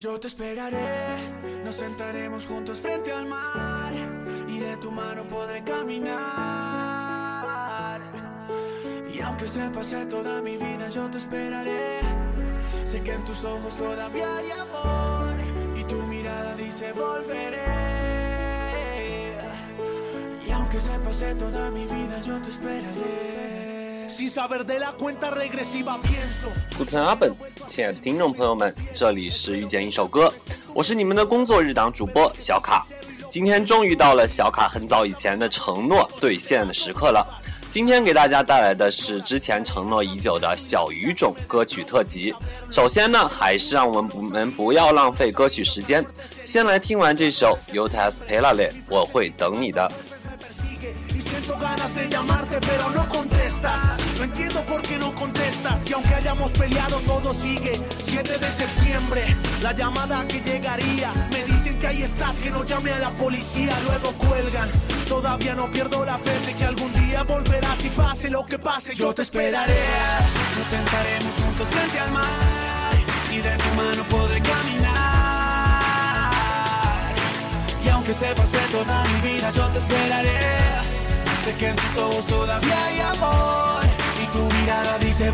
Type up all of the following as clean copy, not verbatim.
Yo te esperaré, nos sentaremos juntos frente al mar y de tu mano podré caminar. Y aunque se pase toda mi vida, yo te esperaré. Sé que en tus ojos todavía hay amor y tu mirada dice volveré. Y aunque se pase toda mi vida, yo te esperaré. Sin saber de la cuenta regresiva pienso。 Guten Abend， 亲爱的听众朋友们，这里是遇见一首歌，我是你们的工作日档主播小卡。今天终于到了小卡很早以前的承诺兑现的时刻了。今天给大家带来的是之前承诺已久的小语种歌曲特辑。首先呢，还是让我们不要浪费歌曲时间，先来听完这首 Yo te esperaré， 我会等你的。 Siento ganas de llamarte pero no contestas. No entiendo por qué no contestas. Y aunque hayamos peleado todo sigue. 7 de septiembre, la llamada que llegaría. Me dicen que ahí estás, que no llame a la policía. Luego cuelgan, todavía no pierdo la fe. Sé que algún día volverás y pase lo que pase. Yo te esperaré, nos sentaremos juntos frente al mar y de tu mano podré caminar. Y aunque se pase toda mi vida, yo te esperaré. Sé que en tus ojos todavía hay amor y tu mirada dice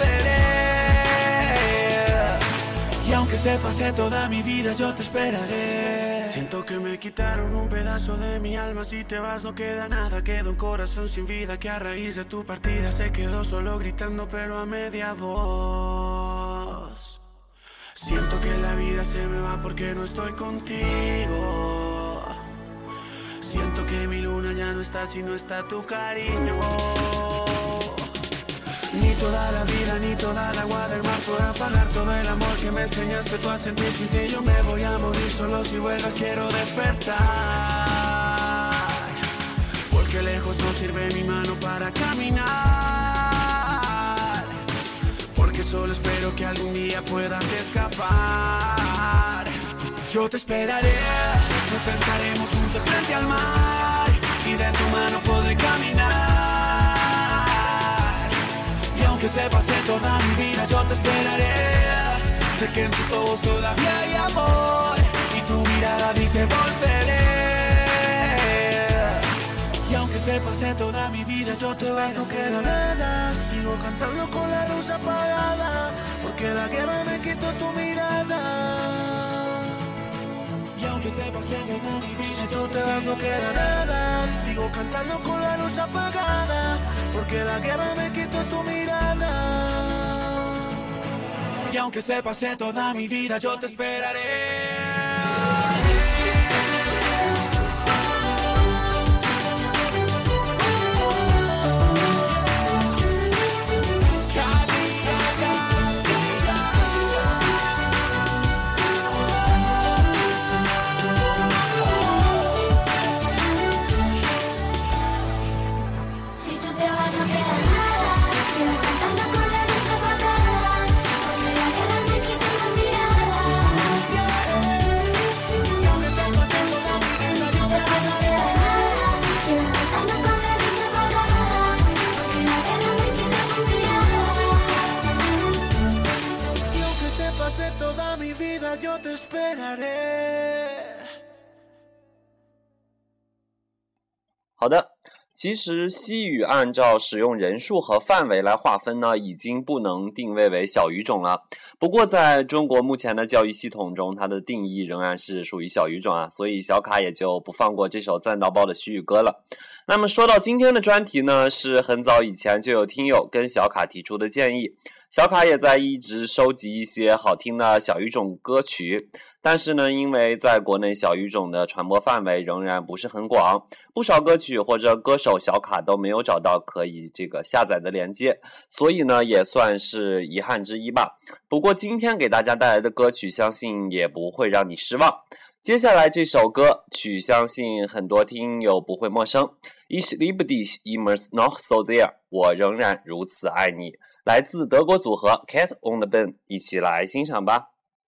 volveré. Y aunque se pase toda mi vida, yo te esperaré. Siento que me quitaron un pedazo de mi alma. Si te vas no queda nada, queda un corazón sin vida que a raíz de tu partida se quedó solo gritando pero a media voz. Siento que la vida se me va porque no estoy contigo. Siento que mi luna ya no está si no está tu cariño. Ni toda la vida ni toda el agua del mar podrá pagar todo el amor que me enseñaste tú a sentir. Sin ti yo me voy a morir, solo si vuelvas quiero despertar. Porque lejos no sirve mi mano para caminar. Porque solo espero que algún día puedas escapar. Yo te esperaré, nos sentaremos juntos frente al mar y de tu mano podré caminar. Y aunque se pase toda mi vida, yo te esperaré. Sé que en tus ojos todavía hay amor y tu mirada dice volveré. Y aunque se pase toda mi vida, yo te vas, no queda nada. Sigo cantando con la luz apagada, porque la guerra me quitó tu mirada. Si tú te vas no queda nada. Sigo cantando con la luz apagada, porque la guerra me quitó tu mirada. Y aunque se pase toda mi vida, yo te esperaré. Toda mi vida yo te esperaré。 好的，其实西语按照使用人数和范围来划分呢，已经不能定位为小语种了。不过在中国目前的教育系统中，它的定义仍然是属于小语种啊，所以小卡也就不放过这首赞到爆的西语歌了。那么说到今天的专题呢，是很早以前就有听友跟小卡提出的建议，小卡也在一直收集一些好听的小语种歌曲，但是呢，因为在国内小语种的传播范围仍然不是很广，不少歌曲或者歌手小卡都没有找到可以下载的连接，所以呢也算是遗憾之一吧。不过今天给大家带来的歌曲相信也不会让你失望。接下来这首歌曲相信很多听友不会陌生， Ich liebe dich immer noch so sehr， 我仍然如此爱你，来自德国组合 Cat on the Beam， 一起来欣赏吧。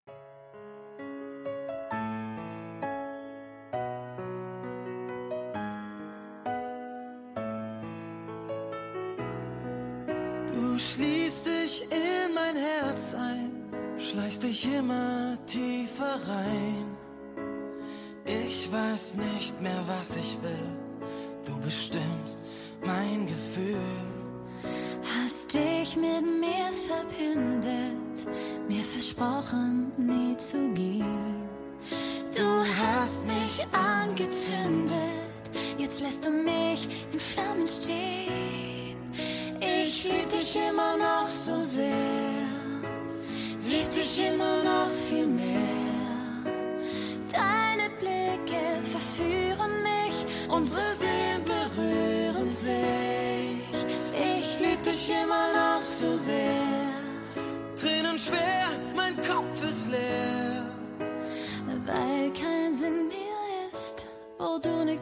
Du schließt dich in mein Herz ein, schleichst dich immer tiefer rein. Ich weiß nicht mehr, was ich will. Du bestimmst mein Gefühl. Hast dich mit mir verbündet, mir versprochen, nie zu gehen. Du hast mich angezündet, jetzt lässt du mich in Flammen stehen. Ich lieb dich immer noch so sehr, lieb dich immer noch viel mehr. Deine Blicke verführen mich, unsere Seelen berühren sich. Ich lieb dich immer noch so sehr. Tränen schwer, mein Kopf ist leer. Weil kein Sinn mehr ist, wo du nicht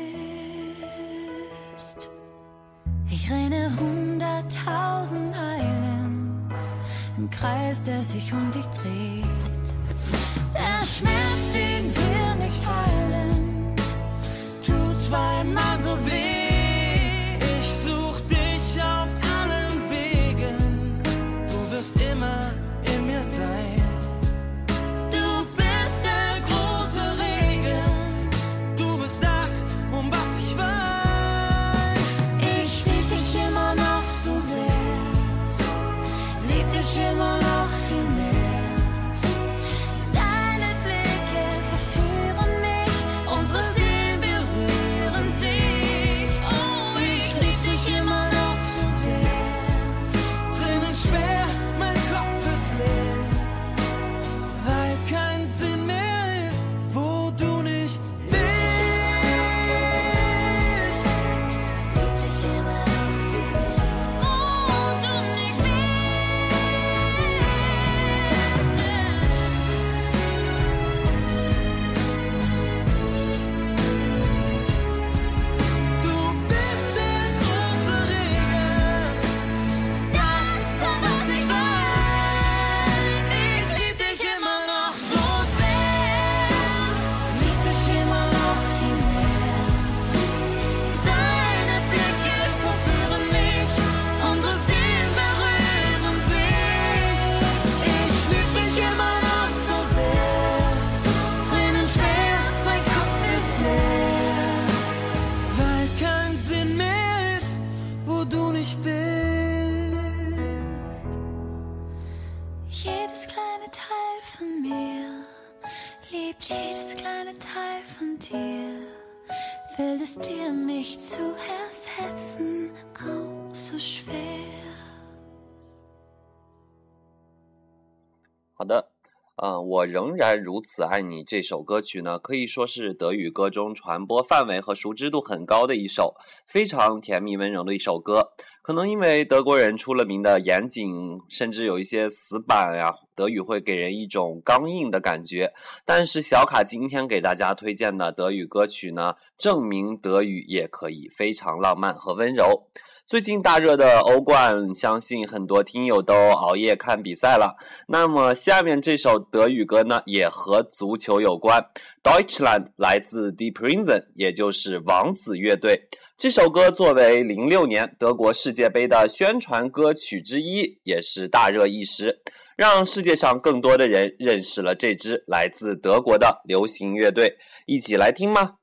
bist. Ich renne 100.000 Meilen im Kreis, der sich um dich dreht. Der Schmerz, den wir nicht teilen, tut zweimal so weh. Ich such dich auf allen Wegen, du wirst immer in mir sein. Immer noch viel mehr. Deine Blicke verführen mich, unsere Seelen berühren sich. Oh, ich lieb dich immer noch so sehr. Tränen schwer, mein Kopf ist leer, weil kein Sinn mehr ist, wo du nicht bist. Lieb dich immer noch viel mehr, wo du nicht bist. Jedes kleine Teil von mir liebt jedes kleine Teil von dir. Fällt es dir, mich zu ersetzen, auch so schwer? 好的，我仍然如此爱你这首歌曲呢，可以说是德语歌中传播范围和熟知度很高的一首非常甜蜜温柔的一首歌。可能因为德国人出了名的严谨，甚至有一些死板呀，德语会给人一种刚硬的感觉。但是小卡今天给大家推荐的德语歌曲呢，证明德语也可以非常浪漫和温柔。最近大热的欧冠，相信很多听友都熬夜看比赛了。那么下面这首德语歌呢，也和足球有关。Deutschland 来自 Die Prinzen， 也就是王子乐队。这首歌作为06年德国世界杯的宣传歌曲之一，也是大热一时，让世界上更多的人认识了这支来自德国的流行乐队。一起来听吗？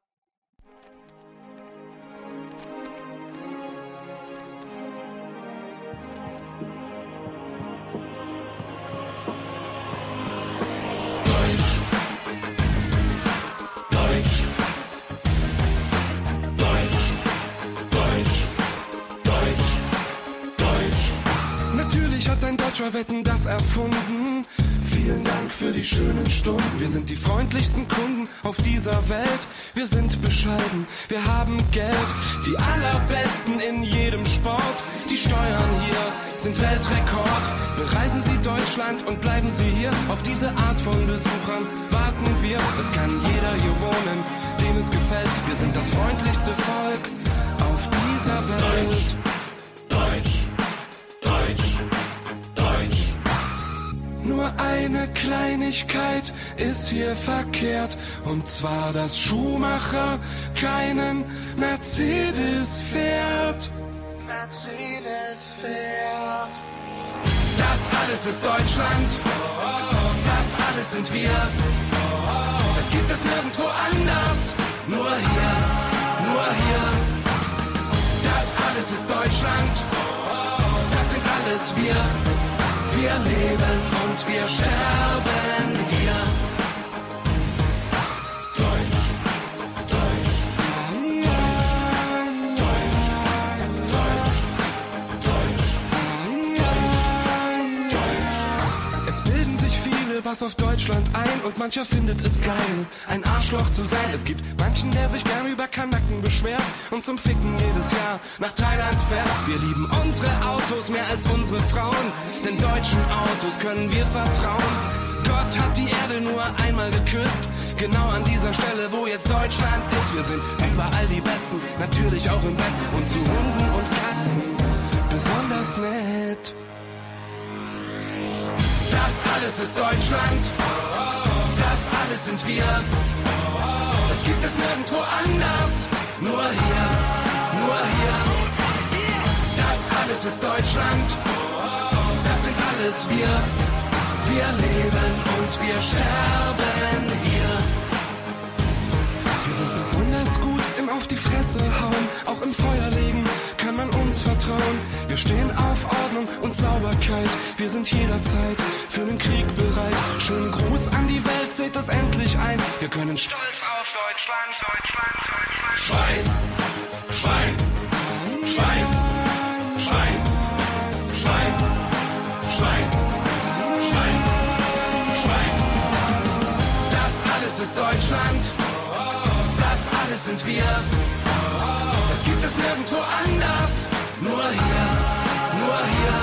Ein Deutscher Wetten, das erfunden. Vielen Dank für die schönen Stunden. Wir sind die freundlichsten Kunden auf dieser Welt. Wir sind bescheiden, wir haben Geld. Die allerbesten in jedem Sport. Die Steuern hier sind Weltrekord. Bereisen Sie Deutschland und bleiben Sie hier. Auf diese Art von Besuchern warten wir. Es kann jeder hier wohnen, dem es gefällt. Wir sind das freundlichste Volk auf dieser Welt. Deutsch, Deutsch, Deutsch. Nur eine Kleinigkeit ist hier verkehrt, und zwar, dass Schumacher keinen Mercedes fährt. Mercedes fährt. Das alles ist Deutschland, das alles sind wir. leben und wir sterben hier. Deutsch, Deutsch, was auf Deutschland ein und mancher findet es geil, ein Arschloch zu sein. Es gibt manchen, der sich gern über Kanaken beschwert und zum Ficken jedes Jahr nach Thailand fährt. Wir lieben unsere Autos mehr als unsere Frauen, denn deutschen Autos können wir vertrauen. Gott hat die Erde nur einmal geküsst, genau an dieser Stelle, wo jetzt Deutschland ist. Wir sind überall die Besten, natürlich auch im Bett und zu Hunden und Katzen besonders nett. Das alles ist Deutschland, das alles sind wir. Das gibt es nirgendwo anders, nur hier, nur hier. Das alles ist Deutschland, das sind alles wir. Wir leben und wir sterben hier. Wir sind besonders gut im Auf die Fresse hauen, auch im Feuer legen kann man uns vertrauen. Wir stehen auf Ordnung und Sauberkeit, wir sind jederzeit für den Krieg bereit. Schönen Gruß an die Welt, seht das endlich ein. Wir können stolz auf Deutschland, Deutschland, Deutschland. Schwein, Schwein, Schwein, Schwein, Schwein, Schwein, Schwein, Schwein. Das alles ist Deutschland, das alles sind wir. Das gibt es nirgendwo anders, nur hier, nur hier.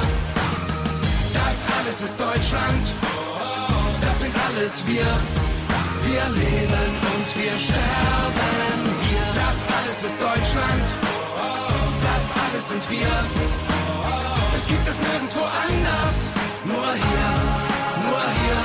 Das alles ist Deutschland, das sind alles wir. Wir leben und wir sterben hier. Das alles ist Deutschland, das alles sind wir. Es gibt es nirgendwo anders, nur hier, nur hier.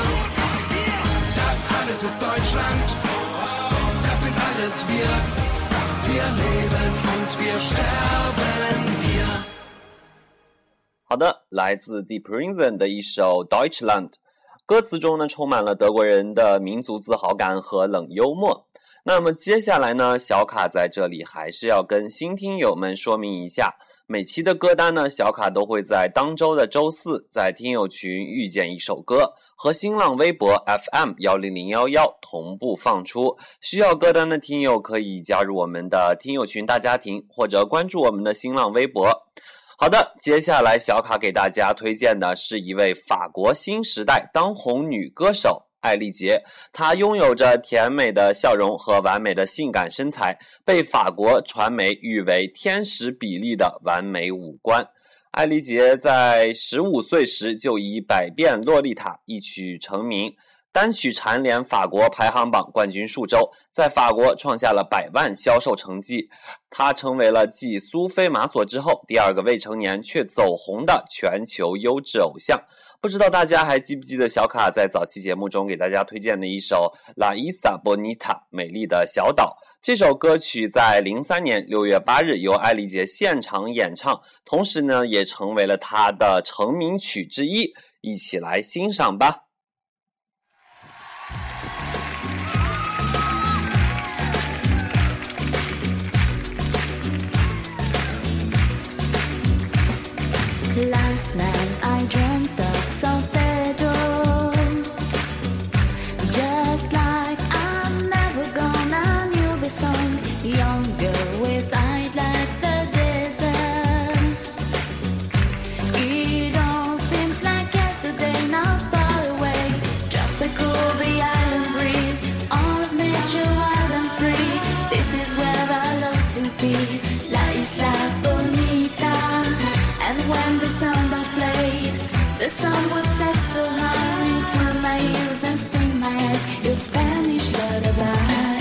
Das alles ist Deutschland, das sind alles wir. Wir leben und wir sterben hier。 好的，来自 Deep Prison 的一首 Deutschland， 歌词中呢充满了德国人的民族自豪感和冷幽默。那么接下来呢，小卡在这里还是要跟新听友们说明一下，每期的歌单呢，小卡都会在当周的周四在听友群遇见一首歌，和新浪微博 FM10011同步放出。需要歌单的听友可以加入我们的听友群大家庭，或者关注我们的新浪微博。好的，接下来小卡给大家推荐的是一位法国新时代当红女歌手艾丽杰，她拥有着甜美的笑容和完美的性感身材，被法国传媒誉为天使比例的完美五官。艾丽杰在15岁时就以百变洛丽塔一曲成名，单曲蝉联法国排行榜冠军数周，在法国创下了100万销售成绩。她成为了继苏菲玛索之后第二个未成年却走红的全球优质偶像。不知道大家还记不记得小卡在早期节目中给大家推荐的一首 La Isla Bonita 美丽的小岛。这首歌曲在03年6月8日由艾丽杰现场演唱，同时呢也成为了她的成名曲之一，一起来欣赏吧。 Last night I dreamt of San Pedro, just like I'm never gonna knew the song, younger with eyes like the desert. It all seems like yesterday, not far away. Tropical, the island breeze, all of nature wild and free. This is where I love to be, La Isla Bonita. And when the samba played, the sun would set so high, through my ears and sting my eyes, your Spanish lullaby.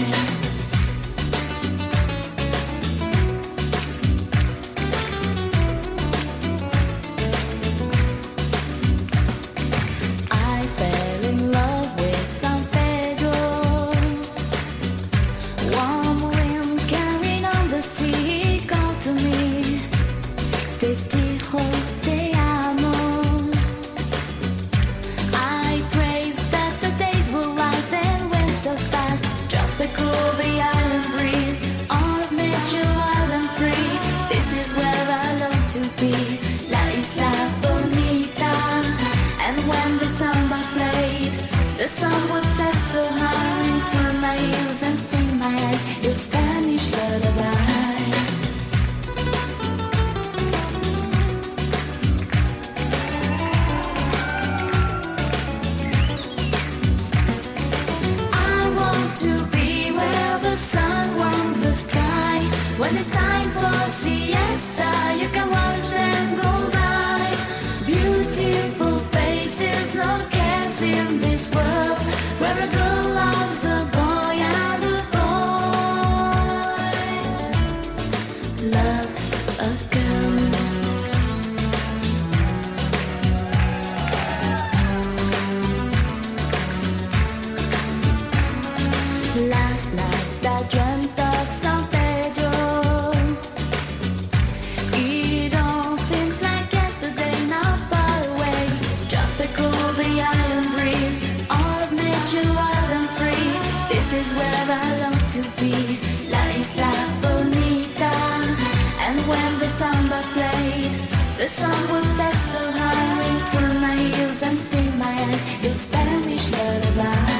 I fell in love with San Pedro. Warm wind carried on the sea, called to me. Te amo. I prayed that the days will rise and when to be where the sun warms the sky. When it's time for siesta, you can watch them go by. Beautiful faces, no cares in this world, where a girl loves a boy and a boy loves a girl. Last night I dreamt of San Pedro. It all seems like yesterday, not far away. Tropical, the island breeze, all of nature wild and free. This is where I long to be, La Isla Bonita. And when the samba played, the sun would set so high, ring through my ears and sting my eyes, your Spanish lullaby.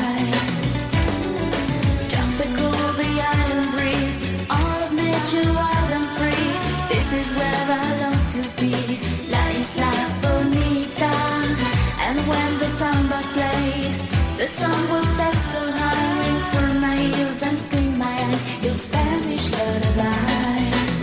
Wild and free, this is where I long to be, La Isla Bonita. And when the samba played, the sun will set so high, ring through my ears and sting my eyes, your Spanish lullaby.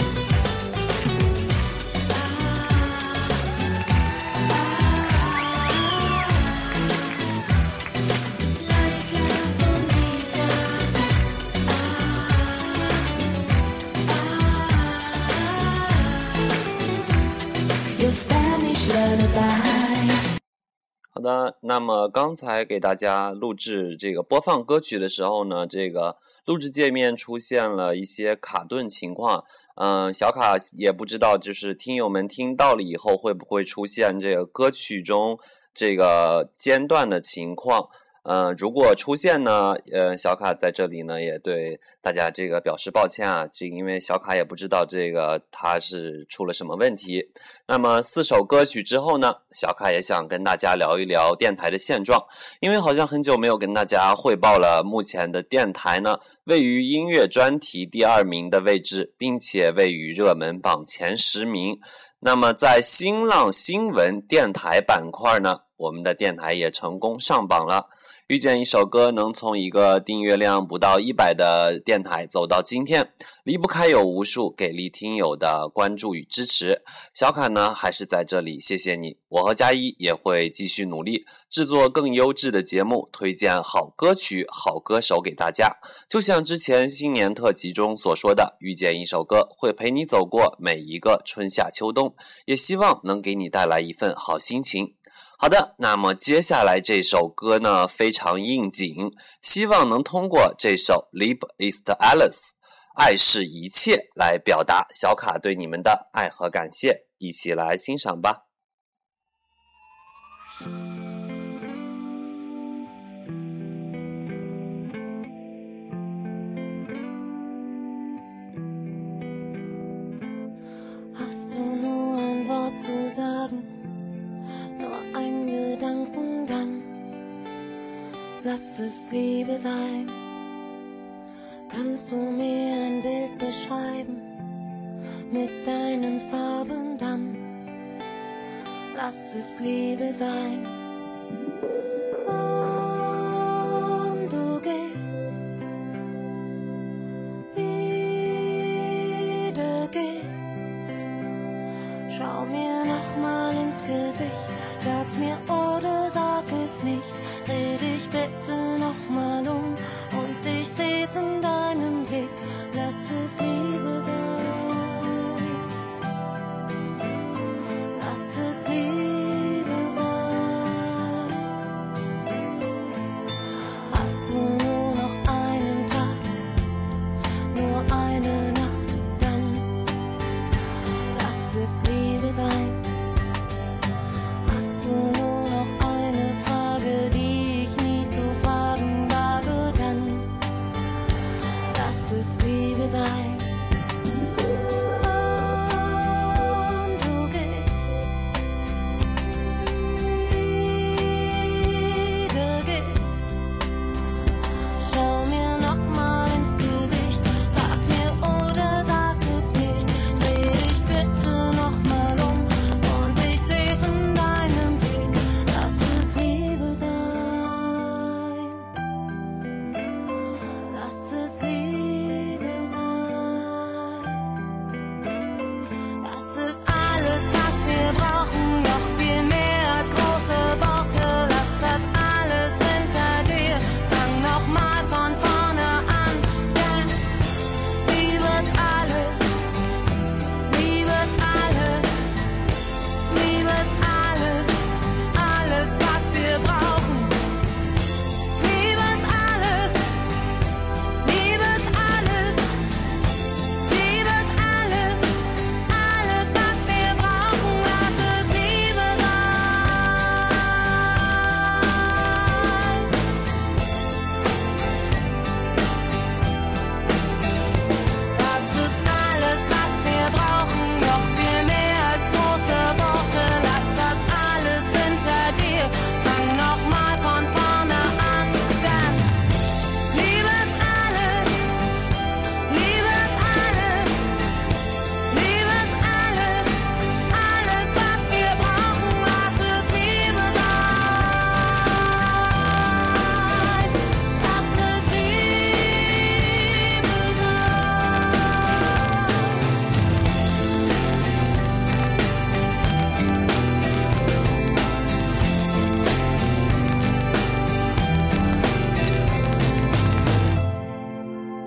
好的，那么刚才给大家录制这个播放歌曲的时候呢，这个录制界面出现了一些卡顿情况，小卡也不知道就是听友们听到了以后会不会出现这个歌曲中这个间断的情况。如果出现呢，小卡在这里呢也对大家这个表示抱歉啊，因为小卡也不知道这个它是出了什么问题。那么4首歌曲之后呢，小卡也想跟大家聊一聊电台的现状，因为好像很久没有跟大家汇报了，目前的电台呢位于音乐专题第2名的位置，并且位于热门榜前10名。那么在新浪新闻电台板块呢，我们的电台也成功上榜了。遇见一首歌能从一个订阅量不到100的电台走到今天，离不开有无数给力听友的关注与支持。小卡呢还是在这里谢谢你，我和佳一也会继续努力制作更优质的节目，推荐好歌曲好歌手给大家。就像之前新年特辑中所说的，遇见一首歌会陪你走过每一个春夏秋冬，也希望能给你带来一份好心情。好的，那么接下来这首歌呢非常应景，希望能通过这首 Liebe ist alles 爱是一切来表达小卡对你们的爱和感谢，一起来欣赏吧。 Hast du nur ein Wort zu sagen? Nur ein Gedanken, dann lass es Liebe sein. Kannst du mir ein Bild beschreiben mit deinen Farben, dann lass es Liebe sein. Und du gehst, wieder gehst, schau mir nochmal ins Gesicht. Sag's mir oder sag es nicht, dreh dich bitte nochmal um und ich seh's in deinem Blick, lass es Liebe sein, lass es Liebe sein. es Liebe sein. Das ist alles, was wir brauchen, noch viel mehr als große Worte. Lass das alles hinter dir, fang nochmal von vorne an, denn Liebe ist alles, Liebe ist alles, Liebe ist alles, alles, was wir brauchen. Liebe ist alles, Liebe ist alles, Liebe ist alles, alles, was wir brauchen. Lass es Liebe sein. Das ist alles, was wir brauchen, noch viel mehr als große Worte. Lass das alles hinter dir, fang nochmal von vorne an, denn Liebe ist alles, Liebe ist alles, Liebe ist alles, alles, was wir brauchen. Lass es Liebe sein. Lass es Liebe sein.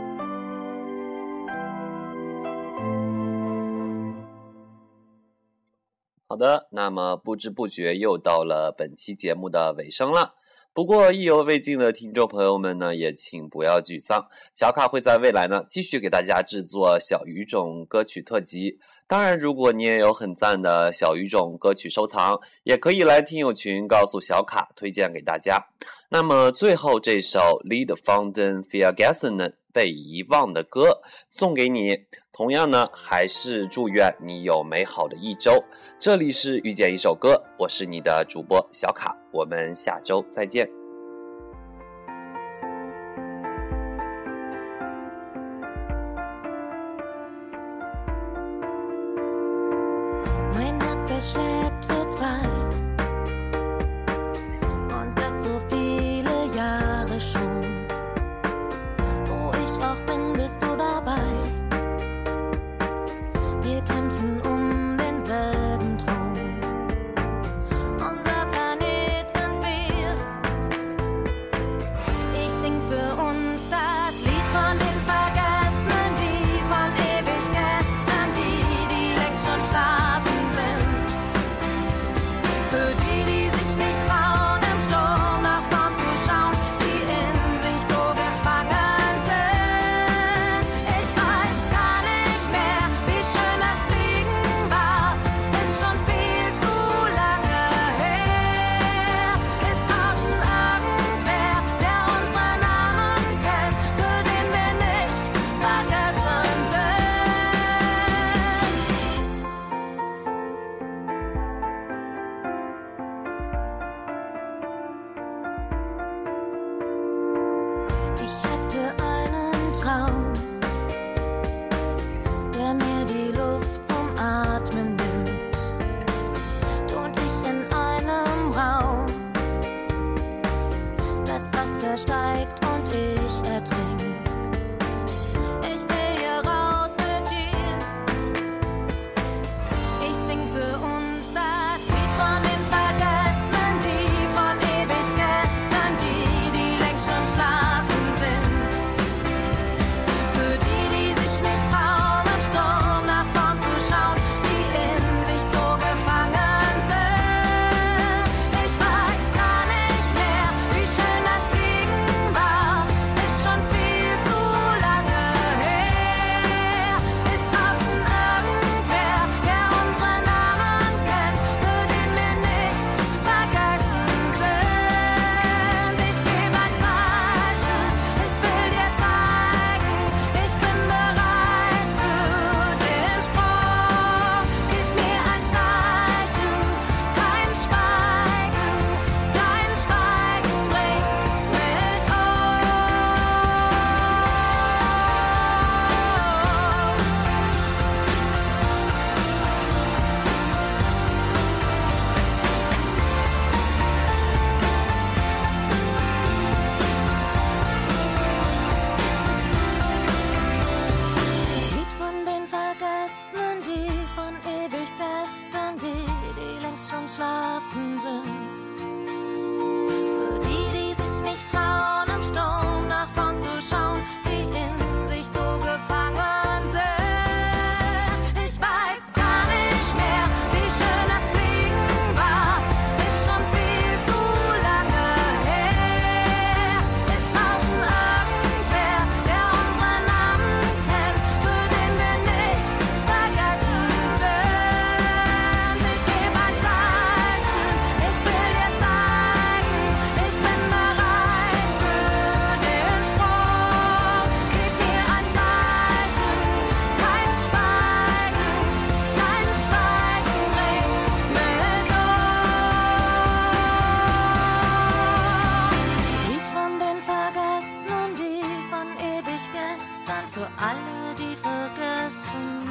好的，那么不知不觉又到了本期节目的尾声了。不过意犹未尽的听众朋友们呢，也请不要沮丧，小卡会在未来呢继续给大家制作小语种歌曲特辑。当然，如果你也有很赞的小语种歌曲收藏，也可以来听友群告诉小卡，推荐给大家。那么最后这首 Lied von den Vergessenen 被遗忘的歌送给你，同样呢还是祝愿你有美好的一周。这里是遇见一首歌，我是你的主播小卡，我们下周再见。 Mein Herz, das schlägt für zwei. Und das so viele Jahre schon. Wo ich auch bin, bist du dabei. Wir kämpfen um denselben Thron. Unser Planet sind wir. Ich sing für uns das Lied von den Vergessenen, die von ewig gestern, die längst schon schlafen sind. Für die sich nicht trauen, im Sturm nach vorn zu schauen, die in sich so gefangen sind. Ich weiß gar nicht mehr, wie schön das Fliegen war. Ist schon viel zu lange her. Ist draußen irgendwer, der unsere Namen kennt, für den wir nicht vergessen sind? Ich hatte einen Traum, der mir die Luft zum Atmen nimmt. Du und ich in einem Raum. Das Wasser steigt und ich ertrink. Ich will hier raus mit dir. Ich sing für uns das Lied von den Vergessenen, die von ewig gestern, die längst schon schlafen sind. Für die sich nicht trauen, im Sturm nach vorn zu schauen, die in sich so gefangen sind. Ich weiß gar nicht mehr, wie schön das Fliegen war. Ist schon viel für alle, die vergessen,